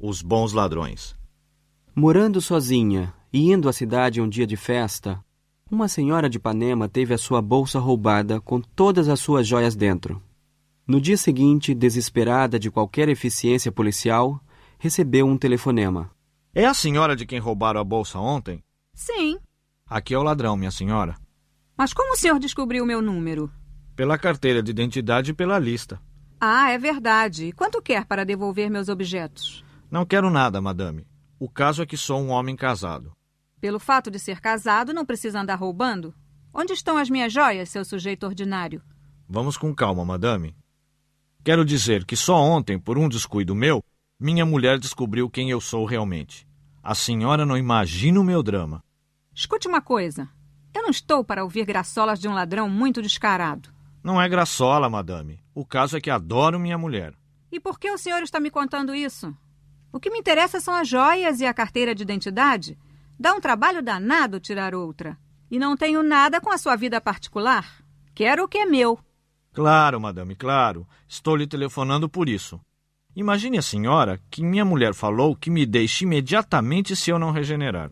Os bons ladrões. Morando sozinha e indo à cidade um dia de festa, uma senhora de Ipanema teve a sua bolsa roubada com todas as suas joias dentro. No dia seguinte, desesperada de qualquer eficiência policial, recebeu um telefonema. É a senhora de quem roubaram a bolsa ontem? Sim. Aqui é o ladrão, minha senhora. Mas como o senhor descobriu o meu número? Pela carteira de identidade e pela lista. Ah, é verdade. E quanto quer para devolver meus objetos? Não quero nada, madame. O caso é que sou um homem casado. Pelo fato de ser casado, não precisa andar roubando? Onde estão as minhas joias, seu sujeito ordinário? Vamos com calma, madame. Quero dizer que só ontem, por um descuido meu, minha mulher descobriu quem eu sou realmente. A senhora não imagina o meu drama. Escute uma coisa. Eu não estou para ouvir graçolas de um ladrão muito descarado. Não é graçola, madame. O caso é que adoro minha mulher. E por que o senhor está me contando isso? O que me interessa são as joias e a carteira de identidade. Dá um trabalho danado tirar outra. E não tenho nada com a sua vida particular. Quero o que é meu. Claro, madame, claro. Estou lhe telefonando por isso. Imagine a senhora que minha mulher falou que me deixe imediatamente se eu não regenerar.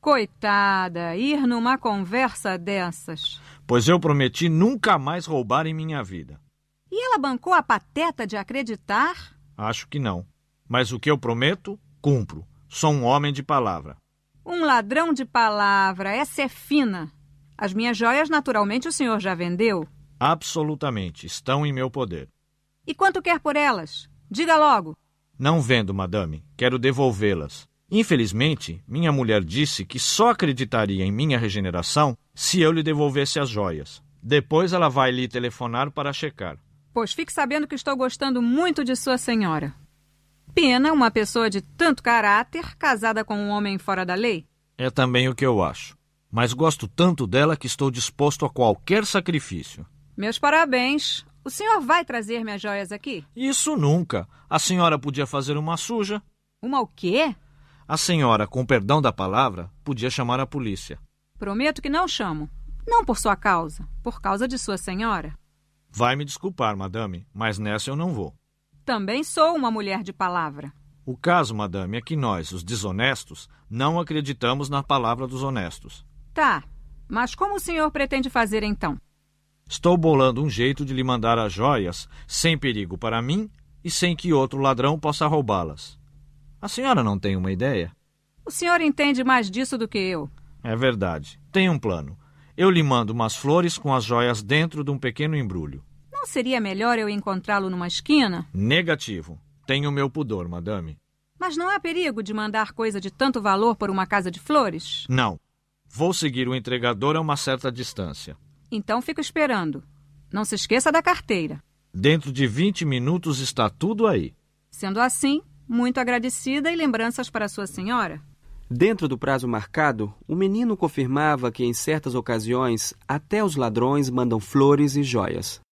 Coitada, ir numa conversa dessas. Pois eu prometi nunca mais roubar em minha vida. E ela bancou a pateta de acreditar? Acho que não. Mas o que eu prometo, cumpro. Sou um homem de palavra. Um ladrão de palavra, essa é fina. As minhas joias, naturalmente, o senhor já vendeu? Absolutamente, estão em meu poder. E quanto quer por elas? Diga logo. Não vendo, madame. Quero devolvê-las. Infelizmente, minha mulher disse que só acreditaria em minha regeneração se eu lhe devolvesse as joias. Depois ela vai lhe telefonar para checar. Pois fique sabendo que estou gostando muito de sua senhora. Pena uma pessoa de tanto caráter casada com um homem fora da lei. É também o que eu acho. Mas gosto tanto dela que estou disposto a qualquer sacrifício. Meus parabéns. O senhor vai trazer minhas joias aqui? Isso nunca. A senhora podia fazer uma suja. Uma o quê? A senhora, com perdão da palavra, podia chamar a polícia. Prometo que não chamo. Não por sua causa, por causa de sua senhora. Vai me desculpar, madame, mas nessa eu não vou. Também sou uma mulher de palavra. O caso, madame, é que nós, os desonestos, não acreditamos na palavra dos honestos. Tá, mas como o senhor pretende fazer então? Estou bolando um jeito de lhe mandar as joias sem perigo para mim e sem que outro ladrão possa roubá-las. A senhora não tem uma ideia? O senhor entende mais disso do que eu. É verdade. Tem um plano. Eu lhe mando umas flores com as joias dentro de um pequeno embrulho. Não seria melhor eu encontrá-lo numa esquina? Negativo. Tenho meu pudor, madame. Mas não há perigo de mandar coisa de tanto valor por uma casa de flores? Não. Vou seguir o entregador a uma certa distância. Então fico esperando. Não se esqueça da carteira. Dentro de 20 minutos está tudo aí. Sendo assim, muito agradecida e lembranças para sua senhora. Dentro do prazo marcado, o menino confirmava que em certas ocasiões até os ladrões mandam flores e joias.